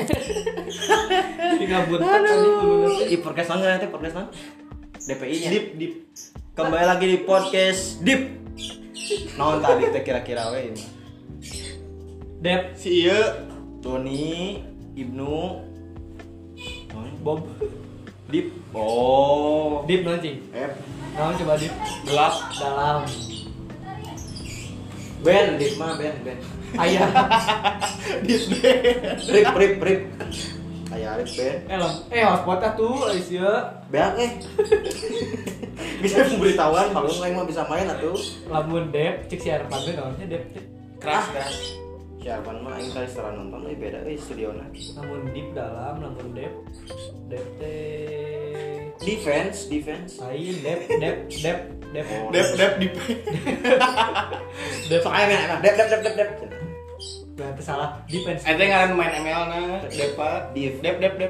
Jadi ngabuntet tadi bener. Di podcast nanti DPI-nya. Dip. Kembali lagi di podcast Dip. Naon tadi teh kira-kira we ini. Dep Si ieu Doni, Ibnu, Bob. Dip. Oh. Dip nanti. Nah, coba dip. gelap. Dalam. Ben, Dip mah Ben. Ayah. Dip. Rip. Aya Rip Ben. Hotspotnya tuh Aisyah. Beak bisa pemberitahuan kalau lain mah bisa main atuh. Lamun Dep cek si Arpan teh naonnya Dep. Keras. Siapa mah aing kali setelah nonton beda studiona. Lamun Dip dalam, lamun Dep teh Defense. lain Dep. Oh, Dip. Dep. Sok aya mah Dep. Berarti salah defense. Eta ngaran main ML na Depa. Dip. Dep.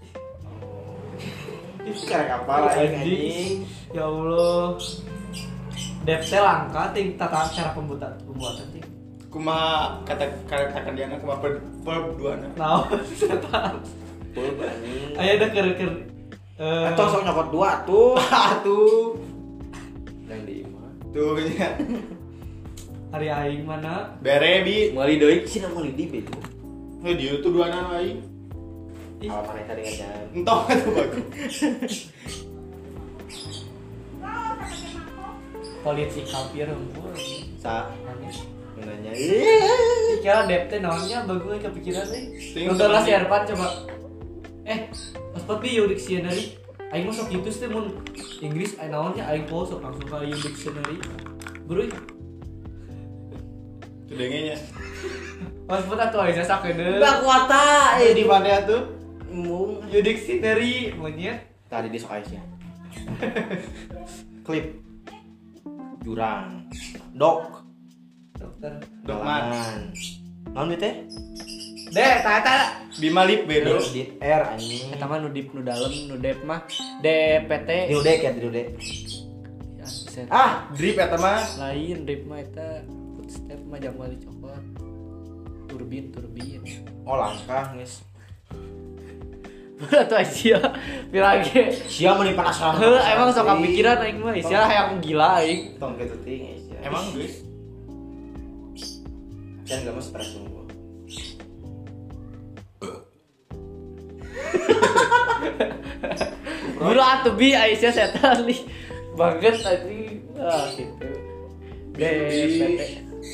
Itu karek apa lah anjing. Ya Allah. Dep teh langka ting tata cara pembuatan ting. Kumaha kata dia kumaha per duana. Naon setan. Pul anjing. Aya da keur Atau sok nyokot dua tuh. Tuh. Dan di imah. Tuh nya. hari aing mana? Bere bi. Meuli deui sih meuli di itu. Heh dieu tuh duana aing. Kalau mana tadi ngajar. Entah itu bagus. Polisi kafir heumpul. Sa Manis. nanya. Kira Dep teh naonnya bagus kepikiran euy. Ting, Nonton lah si temennya. Arpan coba. Pas bi yo dictionary. Aing mah sok kitu teh mun Inggris aya naonnya aing poho sok langsung ka ieu dictionary. Beureui. Tudengenya. Pas pun atuh aing sakedeung. Bak wata Di mana tuh? mung Ieu dictionary monyet. tadi di sok ya. Klip. Jurang. Dok. Dokter. Dokman. Naon teh? Dek, tata. Bima lip beda. Di R anjing. Eta mah nu dip nu dalem nu Dep mah DPT. Di udek ya, di udek. Ya, set. Drip eta mah. Lain Dep mah eta footstep mah Jamal cokot. Turbin. Oh langkah geus. Udah tuh Aisyah bilage. Sia meni penasaran. Emang sok kepikiran aing mah Aisyah hayang gila aing. Tong kitu ting Sia. Emang guys. Can enggak mas stres gua. Buru atuh bi Aisyah setan li. Banget anjing. Gitu. DPT.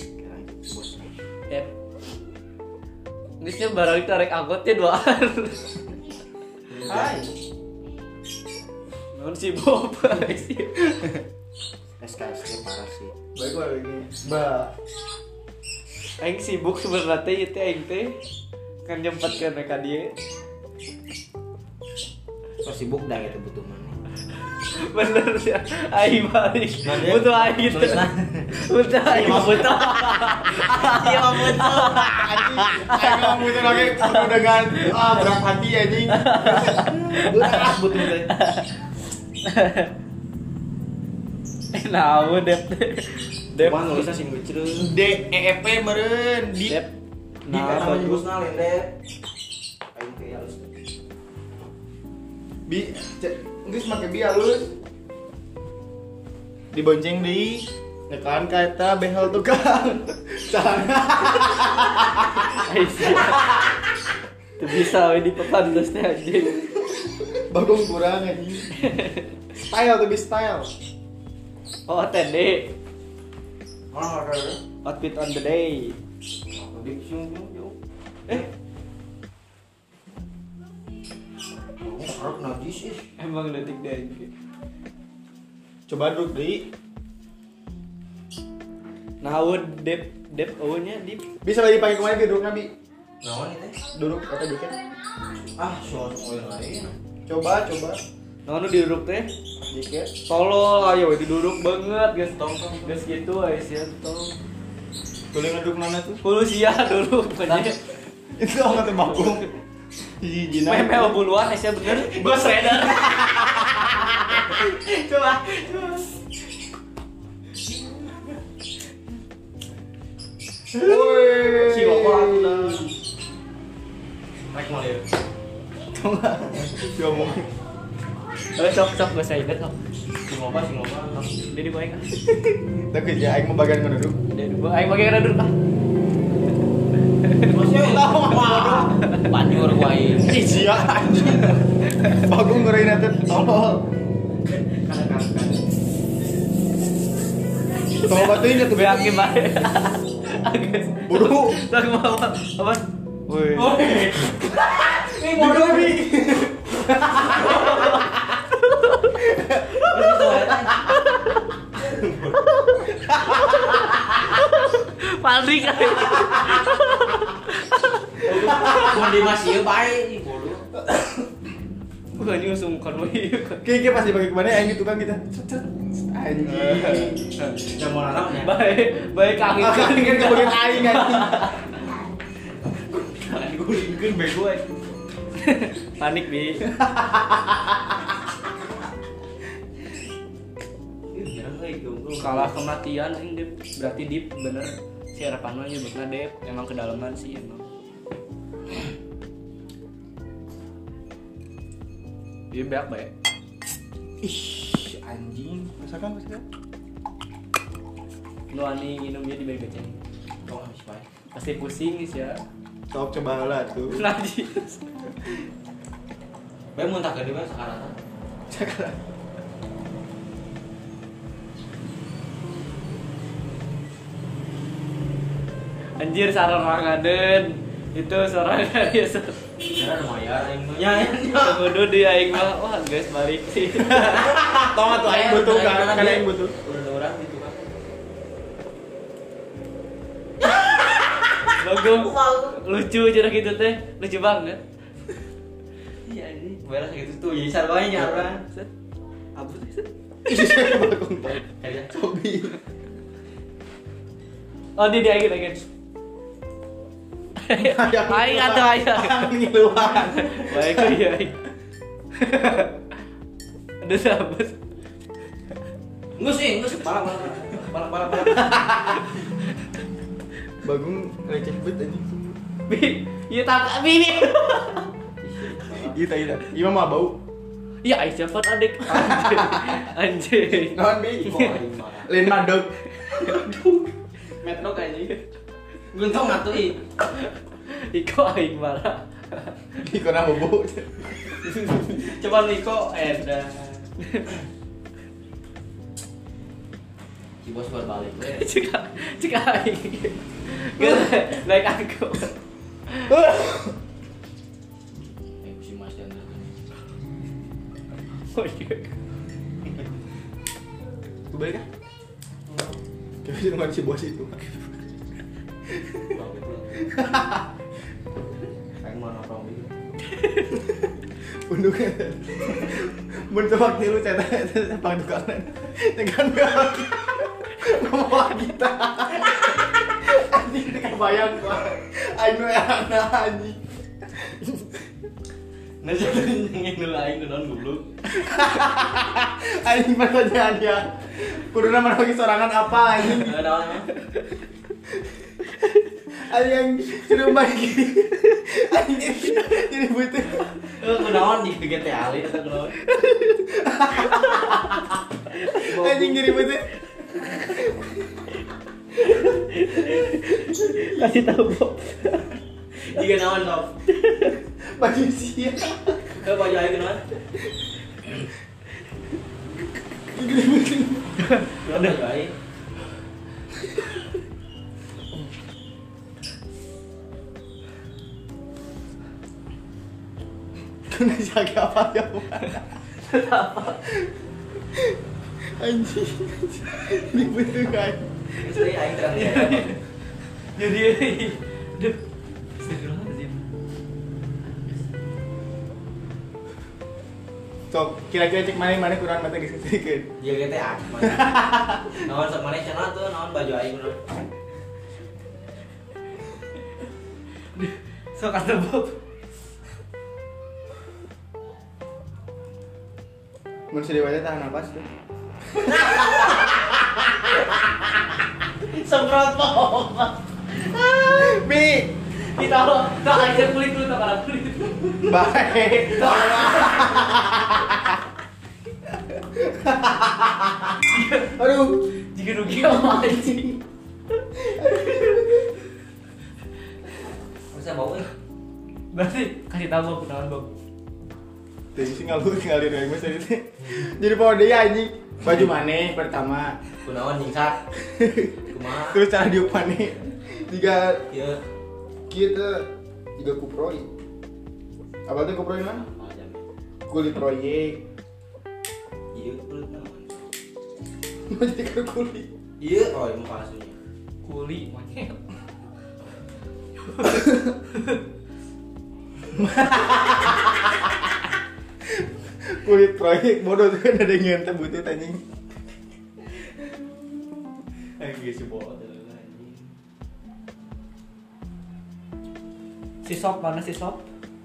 Dep. Geusnya barang itu rek anggotnya duaan. Hai. Non si Bob sih. SKS parah sih. Baik lagi. Aing sibuk sebenarnya teh ieu teh aing teh kan nyempatkeun ka dieu. So sibuk dah gitu butuh mana. Bener sih. Aing balik. Nah, dia- Butuh aing gitu. Butuh aing mah butuh. Iya mah butuh. Aing ngomong itu lagi penuh dengan berat hati anjing. Butuh teh. Naon Dep. Dep. Mana nulisnya sing lucu. DEP meureun di Dep. Nah, Nah, nama bagus. nyebutna lain deh. Aing teh halus. bi geus make bi halus. Dibonceng deui nekan ka eta behel tukang. Sana. Aisyah. Tuh bisa we di papan terus teh anjing. Bagong kurang anjing. Style tuh bi style. Oh, TD. Mana ada? Outfit on the day. Di sini yuk. Harus najis sih. Emang detik deh. Coba duduk deui. Naon Dep nya di Bisa lagi pakai kemarin duduk nabi. Naon ini? Duduk atau duduk. Soal oil lain. Coba. naon nu duduk teh. Dikit. Tolol ayo duduk banget guys. Guys gitu Aisyah tong. Boleh ngeduk nana tuh. Polusia dulu pokoknya. Itu amat bagong. Jijina. Memel buluan Aisyah bener. Ghost Rider. Coba. Woi. Si Wapo lah. Rek mau lihat Diomong. Sok gak saya ingat sok. Sing loba. Jadi gue kan. Tapi ya aing mau bagian mana dulu? Jadi gue aing pakai rada dulu. Masih tahu apa? Banjur gua ieu. Sia anjing. Bagung ngeureun eta tolol. Tolong batuin atuh Beak gimana? Agus. Buru. Sok apa? Woi. Ini bodoh nih. Paling aja. Mun di masih bae bodoh. Bukan ini sungkan woi. Kayak pasti bagi kemana aing tukang kita. Anjing. Udah mau nanamnya. Baik kaki Kan kebagian aing anjing. gulingkeun bego aja. Panik bi. Kalah kematian aing Dep. Berarti Dip bener si harapan mah nyebutna Dep emang kedalaman sih emang. Iya beak bae. Ih, anjing. Masakan. Lu ani minumnya di bege ceng. Oh, habis bae. Pasti pusing sih ya. Sok coba lah tuh. Najis. Bae muntah gede bae sekarang. Sekarang. Anjir sarangaden. Itu sorangan ya. Karena lumayan aing mah. Ya. Kudu di aing mah wah guys balik sih. Tong atuh aing butuh kan aing butuh. Udah orang gitu kan. Bagus. Lucu cara gitu teh. Lucu banget. Iya anjing. Beres gitu tuh. Jadi sarwanya nyaran. Set. Abus set. Ih, bagung tong. Kayak Sobi. Oh dia aing. Aing atuh aing. Ngiluan. Baik iya. Ada sabes. Ngus. Parah. Bagung receh bet anjing. Bi, iya tak bi. Iya tadi dah. Iya mah bau. Ya aing cepet adik. Anjing. Naon bi? Kok aing mah. Lain madog. Metro kayaknya. Guntung atuh ih. Iko aing marah. Iko na bobo. Coba Niko edan. Si bos berbalik we. Cika aing. Gak naik aku. Si Mas dan Oh iya. Gue balik kan? Kayaknya di rumah si bos itu. Aing mau nongkrong gitu. Unduknya. Mun tebak tilu cetak pangdukanan. Tekan gak. Ngomong kita. Anjing teu kabayang gua. Aing we ana anjing. Nah jadi ngene aing kudu goblok. Anjing maksudnya dia. Kuduna mana lagi sorangan apa anjing? Naon mah? Ada yang sudah bagi. Anjing jadi butuh. Kunaon di GTA ali eta kunaon? Anjing jadi butuh. Kasih tahu Bob. Jika naon top. Baju sia. Ke baju aing kunaon? Ada aing. Kena jaga apa ya? Anjing. Ini butuh kan. Istri aing terang ya. Jadi Duh. Astagfirullahaladzim. Sok kira-kira cek mana kurang mata geus ketrikeun. Dia GTA. Naon sok maneh cenah tuh naon baju aing kunaon? Sok kata Bob. Mun sedih wae tahan napas tuh. Semprot Bob. Bi, Kita lo, tak aja kulit dulu tak kulit. Baik. Aduh, Jika rugi sama anjing. Bisa bau Berarti kasih tahu Bob kenalan Bob. tadi sih ngalir aing mah tadi teh. Jadi poho deui anjing. Baju maneh pertama, kunaon nyingsak. Kumaha? terus cara diuk maneh. Jika Ieu kita jika kuproy. Apa tuh kuproy mah? Kulit proyek. Ieu kulit naon? Mau jadi kan kulit. Ieu oh ini palsunya. Kuli monyet. Kulit proyek bodoh tuh kan ada yang ngentep butuh anjing. Geus si bola anjing. Si Sop mana si Sop?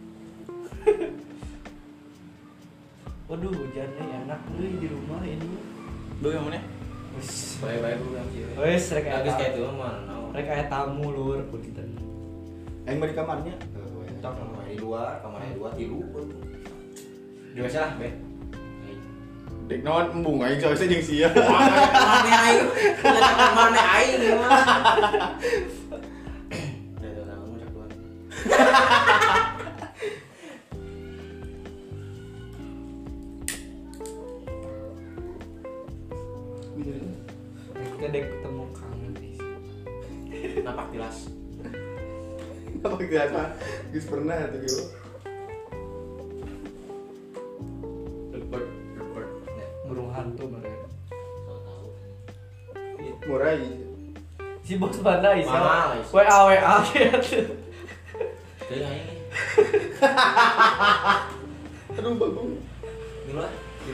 Waduh hujan nih enak nih di rumah ini. Lu yang mana? Wes, Bae-bae ku yang kieu. wes rek Geus kayak aya. itu mah naon. Rek aya tamu lur punten. Aing mah di kamarnya. Kamar di luar, kamar di luar tilu. Di WC lah, Be. Dek naon embung aing soalnya jeung sia. Kamar aing. Kamar aing mah. Ada orang ngucap doang. Kita dek ketemu kangen nih. Napak tilas. Apa kita mah? Geus pernah tuh yo. Report. Burung hantu mereka. Murai. Si bos mana Isa? Mahal, Isa. WA gitu. Teu aing. Aduh bagung. Di luar.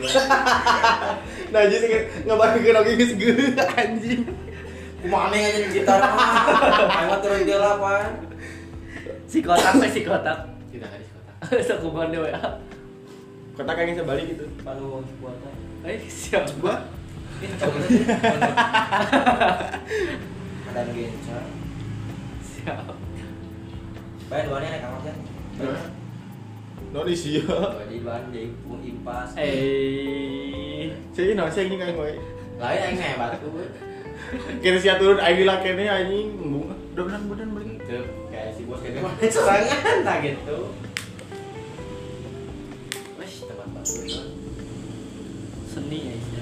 Nah jadi ngabarkeun oge geus geus anjing. Kumaha aja di gitar mah. Aing mah turun deula pan. Si kotak si kotak. Tidak ada di kota. Sakuban deh WA. Kota kayaknya sebalik gitu. Panu buatan. Siap Gua Ini coba. Ada gencar. siap. Bae duanya naik kamar kan. no di sia. Di ban di pun impas. Saya no saya ini kayak gue. Lain aing mah batu. Kira sia turun aing dilakene anjing embung. Udah bener beli. Tuh, kayak si bos kayak gimana serangan tak gitu. Wes tempat baru kan. Seni ya Isa.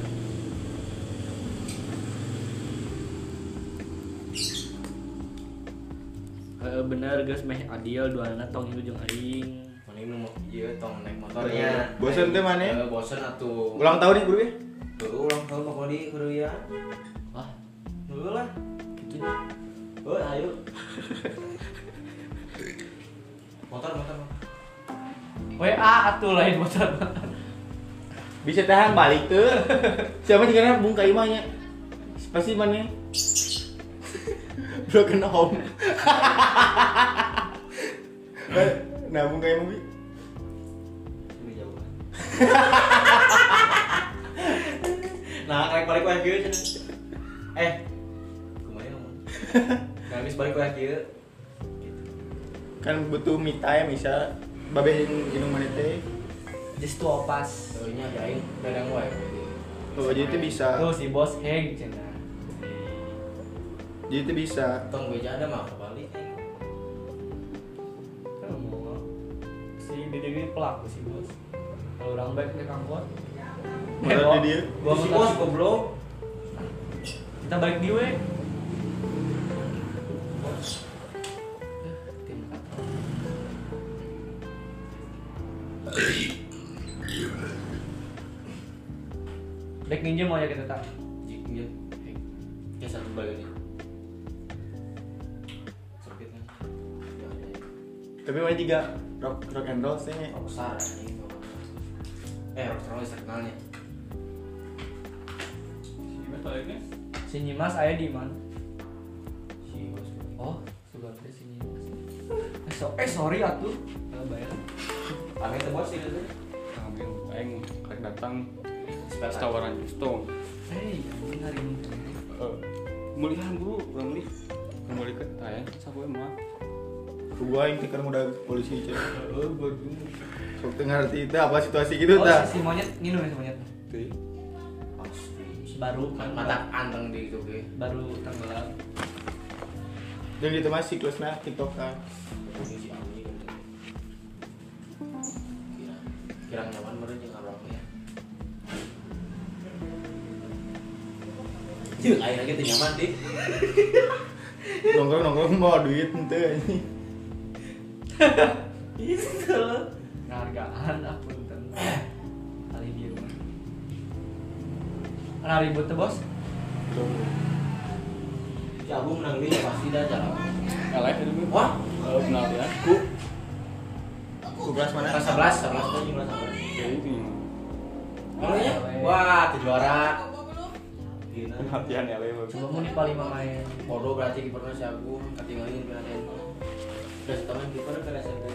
Bener guys meh adiel duana tong itu jeung aing. Mana ini mau ieu tong naik motornya. Bosen teh mana? Bosen atuh. Ulang tahun nih bro ya? Tuh ulang tahun mau di kuliah. Wah, Dulu lah. gitu nya. Oh, ayo. Motor. WA atuh lain motor. Bisa tahan balik tuh. Siapa juga bung ka imahnya? Pasti mana? Broken home. Nah, bung ka imah bi. Ini jauh. Nah, kayak balik lagi aja. Kemarin ngomong. Nggak habis balik lagi. Kan butuh me time bisa babe jeung mana teh. Just to opas. Soalnya aing dadang wae. Oh, jadi itu bisa. Tuh si bos heng cenah. Jadi itu bisa. Tong beja ada mah kebalik. Kan mau si Dede pelaku si bos. Kalau orang baik naik angkot. Menurut dia. Gua Si motor bos si- goblok. Kita balik di we. Tim kata. Dek ninja mau ya kita tak. Iya. Ya satu balik aja. Sempit kan. Ya ada. Tapi mana juga rock and roll sih. Besar anjing. Rockstar list terkenalnya. Si Nyimas aya di mana? Si bos. Oh, sudah ada si Nyimas. Sorry atuh. Bayar. Ame teh bos itu. Ambil, aing karek datang Spek tawaran justo. Hei, ini hari ini. Mulihan dulu, urang beli. Kembali ke tayang sapoe mah. Gua yang tikar udah polisi cek. Oh, bagus. Sok teu ngarti teh apa situasi gitu Oh, tah. si monyet nginum ya si monyet. Teh. Baru Mata anteng di itu ge. baru tenggelam. Dan itu mah siklusna TikTok kan. Ini si Ami. Kira nyaman meureun jeung arwah ya. Cih, ayeuna ge teu nyaman teh. Nongkrong mau duit henteu anjing. Itu ngargaan aku tentang kali dia mah. Ana ribut tuh bos. Si Abu menang dia pasti dah jalan. Kalah itu gue. Wah, Kalau final ya. Ku kelas mana? kelas 11 tuh jumlah sama. Ya itu yang Namanya? Wah, tuh juara. Gila. latihan ya lewe. Coba mau nih paling main. Bodoh berarti kipernya si Agung ketinggalin penaltian. Terus teman kipernya kena SMP.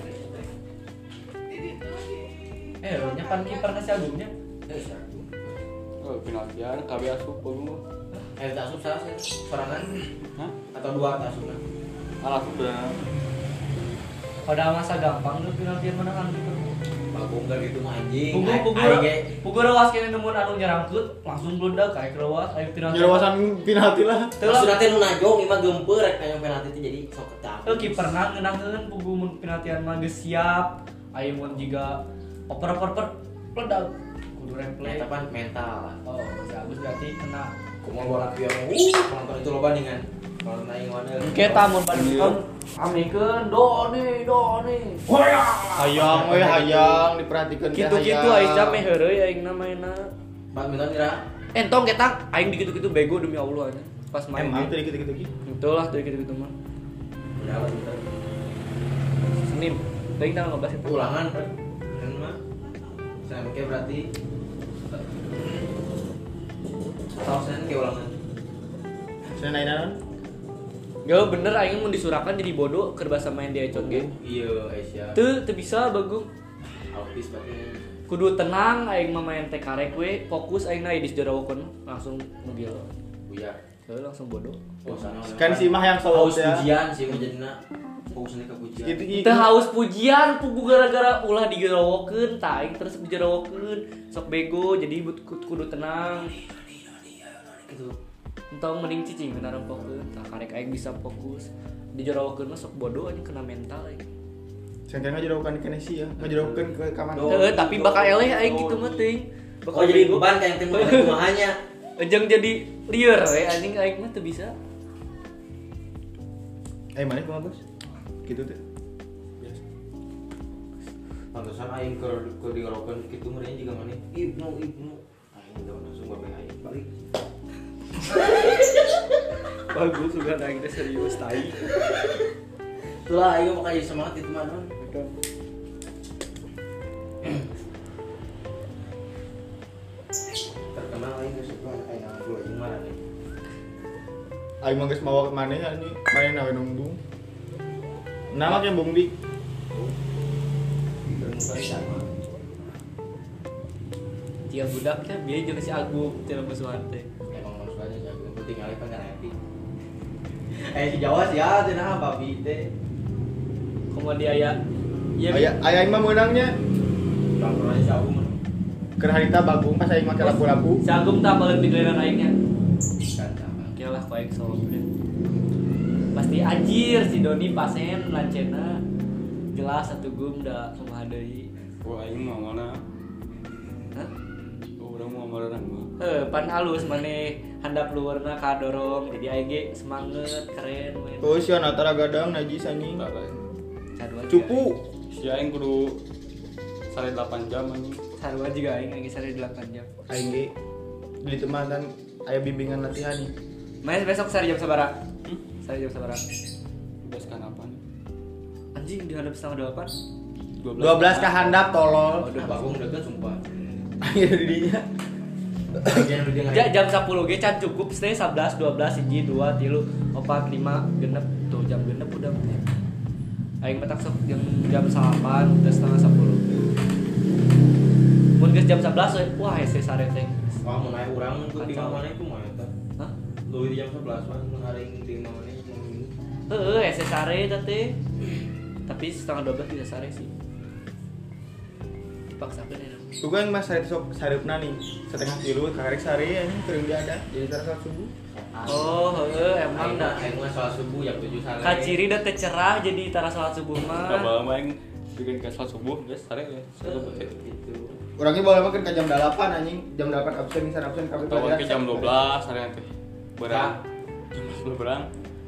Nya pan kiper kasih agungnya. Si Agung. Oh, penaltian KB asup bagus. Tak asup salah serangan Hah? atau dua tak asup. Asup dah. Pada masa gampang tuh penaltian menang kiper. Bagong gak gitu mah anjing. Pugu rawas kene nemun anu nyerangkeut langsung bludak kayak rawas aya penalti. Nyerawasan penalti lah. Terus nanti nu najong imah gempeur rek kayong penalti itu jadi sok ketak. Kiperna ngeunangkeun pugu mun penaltian mah geus siap. Aya mun jiga oper bludak kudu replay. Eta pan mental. Oh, masih bagus berarti kena. Kumaha bola pion. Penonton itu loba dengan kalau naik mana. Kita mun badminton amikeun doni. Hayang we hayang diperhatikan teh Gitu-gitu aing meh heureuy aing mainna. Badminton kira Entong ketak aing gitu-gitu bego demi Allah nya. Pas main. emang teh gitu-gitu. Betul lah tuh gitu-gitu mah. udah badminton. Senin. Teuing tanggal 15 itu. Ulangan kan. Kan mah. Sampai berarti tahu sen ke ulangan. Saya naik. Gak bener aing mun disurakan jadi bodoh keur basa main di ecot ge. Iya, Aisyah. Teu bisa bagus. Autis berarti. Kudu tenang aing mah main teh karek we, fokus aing na di jarawakeun langsung ngegil. Buyar. Heuh langsung bodoh. Oh, sana. Kan si mah yang haus selalu ya. pujian sih mah jadina. Fokusnya ke pujian. Itu Teu haus pujian pugu gara-gara ulah digarawakeun tah aing terus dijarawakeun. Sok bego jadi kudu tenang. Gitu. Entong mending cicing kena fokus. Tah karek aing bisa fokus. Dijarawakeun mah sok bodoh anjing kena mental aing. Sangka ngajerokan ke Nesi ya, ngajerokan ke kamar. Heuh tapi bakal eleh aing gitu mah teuing. Oh jadi beban kayak tim rumahnya. Ejeng jadi liar we anjing aing mah teu bisa. Mana kumaha bos? Gitu teh. Pantesan aing ke diorokeun kitu meureun juga maneh. Ibnu. Aing udah langsung bae aing balik. Bagus juga aing teh serius tai. Itulah aing mau jadi semangat itu mah non. Terkenal aing geus suka aing nganggo aing mah nih. Aing mah geus mawa ke maneh ya ini, maneh nawe nunggu. Nama kayak Bung Dik. Dia budaknya bieu jeung si Agung cenah musuhan teh. Emang manusianya jago, yang penting alih kan happy. Si Jawa sih ya, cenah babi teh. Komo dia aya. Aya aing mah meunangnya. Contohnya si Agung mah. Keur harita bagung pas aing make labu-labu. Si Agung tah paling digeleran aingnya. Kan sama. Oke lah ku aing solo friend. Pasti anjir si Doni pasen lancena. Jelas satu gum da kumaha deui. Wah, aing mah mana? Hah? Urang mau ngaran mah. Pan halus maneh handap luarna kadorong jadi aing ge semangat keren we. Oh sia natara gadang najis anjing. Tak lain. Sarua Cupu. Si aing kudu sare 8 jam anjing. Sarua juga aing sare 8 jam. Aing ge di teman dan aya bimbingan latihan nih. Main besok sare jam sabaraha? Sare jam sabaraha? Bebas kan apa nih? Anjing di handap 7:30. 12 ka handap tolol. Nah, Bagung deket sumpah. Aing di dinya. Jangan udah dengar. Jam 10 ge can cukup stay 11 12 1 2 3 4 5 genep tuh jam genep udah. Aing petak sok jam 8 terus setengah 10. Mun geus jam 11 we wah hese sare teh. Wah, mau naik urang tuh di mana itu mah eta. Hah? Lu di jam 11 mah mun hari ini di mana itu. Heueuh hese sare teh. Tapi setengah 12 bisa sare sih. Dipaksakan ya. Tuh kan mas sare sok saripna nih setengah kilo kakarek sare anjing kering dia ada jadi tara salat subuh. Oh, emang dah. Aing mah sholat subuh jam 7 sare. Kaciri udah cerah jadi tara salat subuh mah. Kabar main bikin ke salat subuh guys, sare ya. Gitu. Orangnya bawa makan ke jam 8 anjing, jam 8 absen misalnya absen kabeh Tahu ke jam 12 sare teh. Berang. Nah. Jam 12 berang.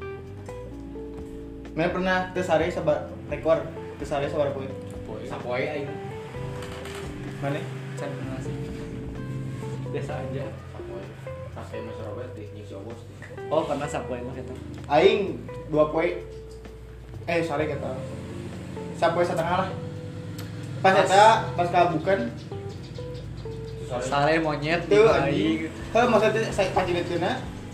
Mana pernah teu sare sabar rekor, teu sare sabar poe. Sapoe aing. Mana? Can kenal sih. Biasa aja. Sapoe. Pas kayak Mas Robert teh nying si Obos teh. Oh, pernah sapoe mah eta. Aing 2 poe. Sare kata. Sapoe setengah lah. Pas eta pas kabukan Sare monyet di teu bayi. anjing. Heuh maksudnya saya pacileutna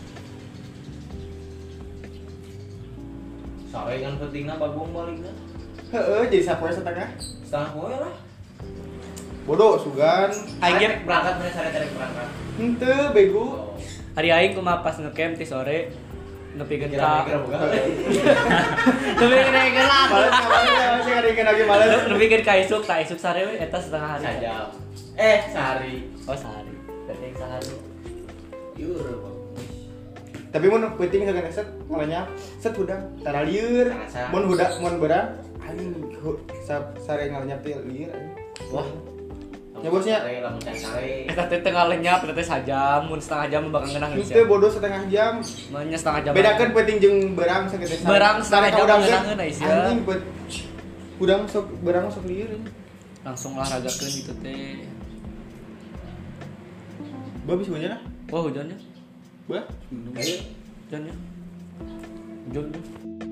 Sare kan pentingna bagong balikna. heueuh jadi sapoe setengah. Setengah poe lah. Bodoh sugan. Aing Tarik berangkat bener sare tarik berangkat. Henteu bego. Oh. Hari aing kumaha pas ngecamp ti sore nepikeun ka. Kira-kira bukan. Nepikeun ka. Males sih ngadengkeun lagi males. Nepikeun ka isuk, tak isuk sare we eta setengah hari. Sajam. Sehari. Oh, sehari. Berarti yang sehari. Yur, Bang. Tapi mun penting sagan set malahnya set hudang tara lieur. Terasa. Mun hudang mun berang anjing sare ngalanyap teh lieur anjing. Wah, Ya, bosnya. Sare lamun can sare. eta teh tengah lenyap, eta teh sajam, mun setengah jam bakal ngeunang geus. Henteu bodoh setengah jam. Manya setengah jam. Bedakeun penting jeung berang sagede sare. Berang setengah Sare ka jam udang ngeunangkeun teh, Aisyah. anjing hudang sok berang sok lieur anjing. Langsung olahragakeun gitu teh. Gua bisa hujan ah. Wah, hujannya. Gua Ayo. Hujannya. Hujannya.